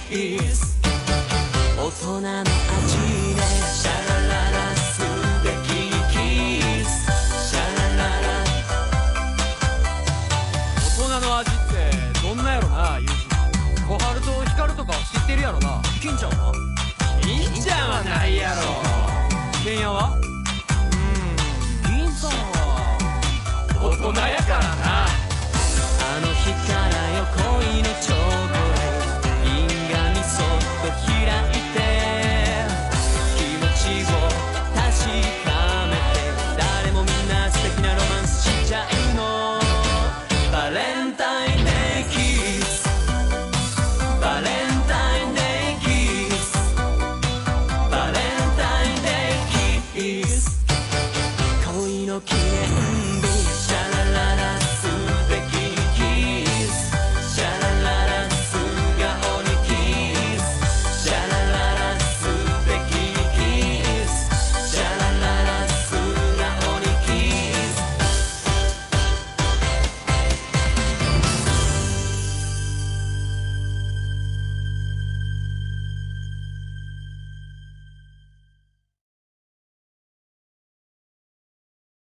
ス大人の味でシャラララ素敵にキスシャラララ大人の味ってどんなやろなユージ。小春と光とかは知ってるやろな。金ちゃんは？ 金ちゃんはないやろ。 ケンヤは？銀さんは大人やからな。あの日からよ恋のチョコレート銀紙そっと開いて気持ちを確かめて誰もみんな素敵なロマンスしちゃうの。バレンタインデーキスバレンタインデーキスバレンタインデーキス恋の記念日